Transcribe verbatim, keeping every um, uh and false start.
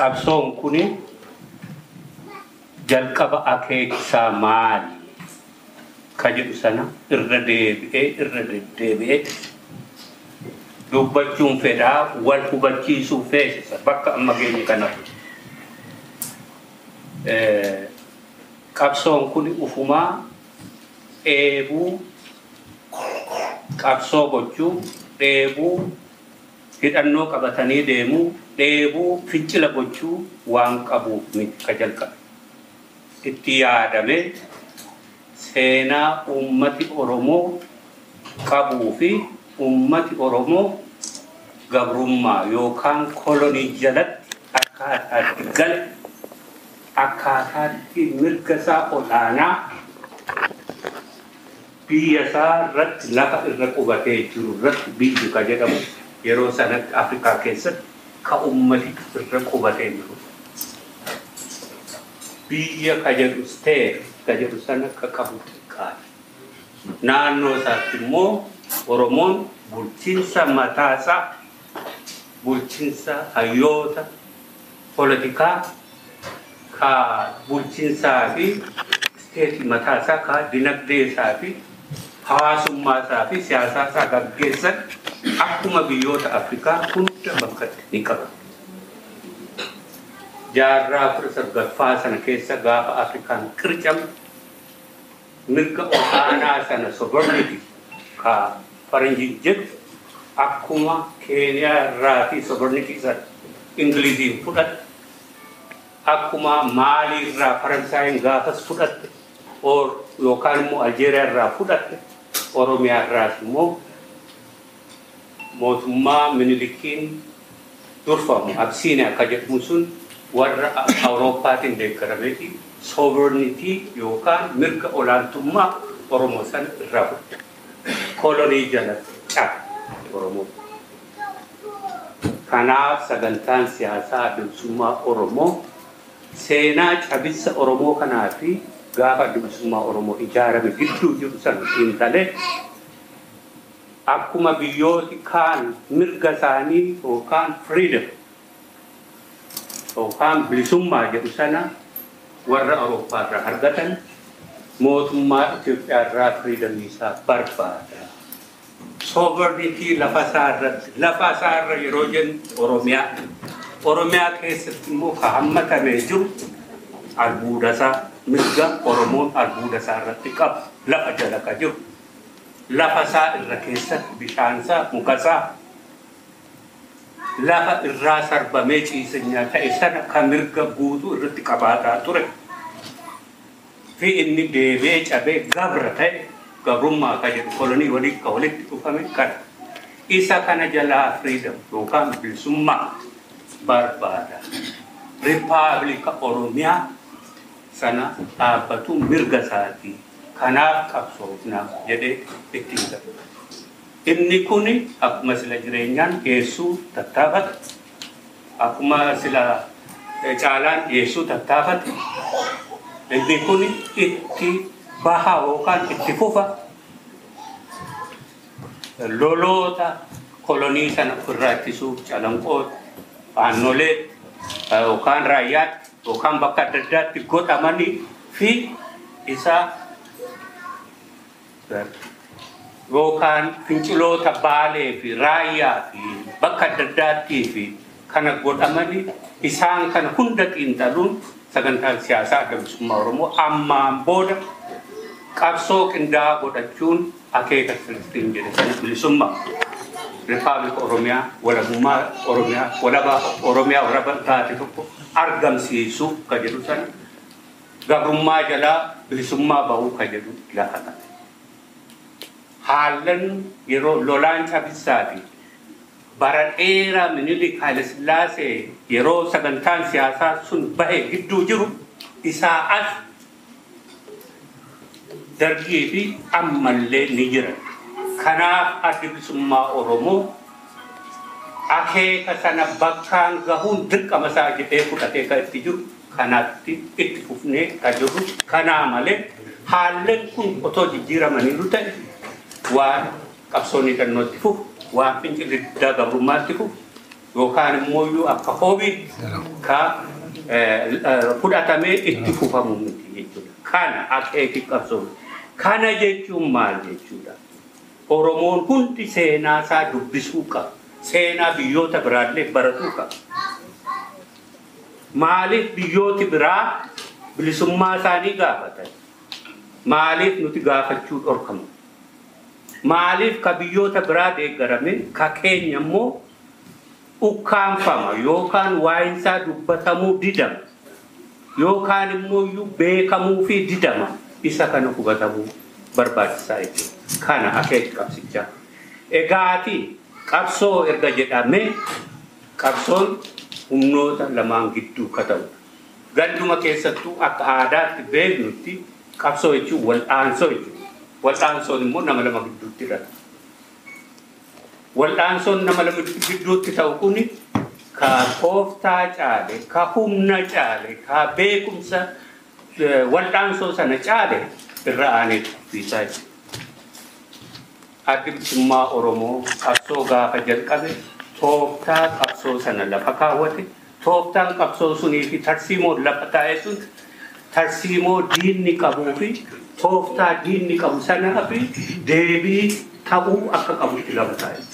qabsoon kuni jalqaba akeekisaa maali ka jedhu sana irra deebi'ee irra deebi'ee dubbachuun fedhaa wal hubachiisuu feesisa bakka amma geenye kanatti. Qabsoon kuni ufumaa dheebuu qabsoo gochuu dheebuu hidhannoo qabatanii deemuu dheebuu fincila gochuu waan qabuuf miti ka jalqabe. Itti yaadame seenaa ummati Oromoo qabuu fi ummati Oromoo gabrummaa yookaan kolonii jalatti akkaataatti gale akkaataatti mirga isaa olaanaa biyya isaa irratti lafa irra qubatee jiru irratti biyyi ka jedhamu yeroo sanatti Afrikaa keessatti ka ummati irra qubatee jiru. Biyya ka jedhu steer ka jedhu sana ka qabu qaali. Naannoo isaatti immoo Oromoon bulchiinsa mataasaa bulchiinsa hayyoota politikaa ka bulchiinsaa fi steetii mataasaa ka dinagdee isaa fi hawaasummaa isaa fi siyaasaa isaa gaggeessan akkuma biyyoota Afrikaa hunda bakkatti ni qaba. Jaarraa kudha sagalaffaa sana keessa gaafa Afrikaan qircame mirga olaanaa sana sovereignty ka faranjiin jedhu akkuma Keeniyaa irraa fi sovereignty isa Ingiliziin fudhatte akkuma Maalii irraa Faransaayiin gaafas fudhatte yookaan immoo Aljeeriyaa irraa fudhatte Oromiyaa irraas immoo mootummaa Minilikiin durfamu Absiiniyaa akka jedhamu sun warra Awurooppaatiin deeggarameeti sovereignty yookaan mirga olaantummaa Oromoo sana irraa fudhatte. Kolonii jalatti cabe Oromoo. Kanaaf sagantaan siyaasaa bilisummaa Oromoo seenaa cabissa Oromoo kanaa fi gaafa bilisummaa Oromoo ijaarame gidduu jiru sana xiinxalee akkuma biyyooti kaan mirga isaanii yookaan freedom yookaan bilisummaa jedhu sana warra Awurooppaa irraa argatan mootummaa Itoophiyaa irraa freedom isaa barbaada. Sovereignty lafa isaa irratti lafa isaa irra yeroo jennu Oromiyaa Oromiyaa keessatti immoo ka hammatamee jiru albuuda isaa mirga Oromoon albuuda isaa irratti qabu lafa jala ka jiru lafa isaa irra keessatti bishaan isaa muka isaa lafa irraa sarbamee ciisenyaa ta'e sana ka mirga guutuu irratti qabaataa ture fi inni deebee cabee gabra ta'e gabrummaa ka jedhu kolonii walii ka walitti dhufame kana isa kana jalaa freedom yookaan bilisummaa barbaada. Rippaabilika Oromiyaa sana dhaabbatu mirga isaatii kanaaf qabsoofna jedhee ittiin galu. Inni kuni akkuma sila jireenyaan dhiyeessuu tattaafate akkuma sila caalaan dhiyeessuu tattaafate inni kuni itti baha yookaan itti fufa loloota kolonii sana ofirraa ittisuuf calanqoota aannolee yookaan raayyaatti yookaan bakka adda addaatti godhamanii fi isa yookaan finciloota Baalee fi Raayyaa fi bakka adda addaattii fi kana godhamanii isaan kana hunda xiinxaluun sagantaan siyaasaa bilisummaa Oromoo ammaan booda qabsoo qindaa'aa godhachuun akeeka Filistiin jedhe bilisummaa Rippaabilika Oromiyaa walabummaa Oromiyaa walaba Oromiyaa warra taate tokko argamsiisuu ka jedhu sana gabrummaa jalaa bilisummaa bahuu ka jedhu lafa ta'e. Haalan yeroo lolaan cabissaati bara dheeraa Minilik Haile Sillaasee yeroo sagantaan siyaasaa sun bahe gidduu jiru isaa as dargii fi ammallee ni jira. Kanaaf addi bilisummaa Oromoo akeeka sana bakkaan gahuun dirqama isaa jedhee fudhatee kan itti jiru kanatti itti fufnee ka jiru kanaa malee haalleen kun otoo jijjiiramaniiru ta'e waan qabsoonni dhannootti fufu waan fincilli diddaa gabrummaatti fufu yookaan immoo iyyuu akka hoobii ka fudhatamee itti fufamu miti jechuudha. Kana akeeki qabsoo. Kana jechuun maal jechuudha? Oromoon hundi seenaa isaa dubbisuu qaba. Seenaa biyyoota biraallee baratuu qaba. Maaliif biyyooti biraa bilisummaa isaanii gaafatan? Maaliif nuti gaafachuu dhorkamu? Maaliif ka biyyoota biraa deeggarame ka keenya immoo ukkaanfama yookaan waa'insaa dubbatamuu didama yookaan immoo iyyuu beekamuu fi didama isa kana hubatamuu barbaachisaa jechuudha. Kana akeeki qabsichaa. Egaati qabsoo erga jedhame qabsoon humnoota lamaan gidduu ka ta'udha. Ganduma keessattuu akka aadaatti beeknutti qabsoo jechuun wal'aansoo jechuudha. Wal'aansoon immoo nama lama gidduutti hidhata. Wal'aansoon nama lama gidduutti ta'u kuni ka tooftaa caale, ka humna caale, ka beekumsa wal'aansoo sana caale irra aanee fiisaa jechuudha. Addi bilisummaa Oromoo qabsoo gaafa jalqabe tooftaa qabsoo sana lafa kaawwate. Tooftaan qabsoo sunii fi tarsiimoon lafa taa'e sun tarsiimoo diinni qabuu fi tooftaa diinni qabu sanaa fi deebii ta'uu akka qabutti lafa taa'e.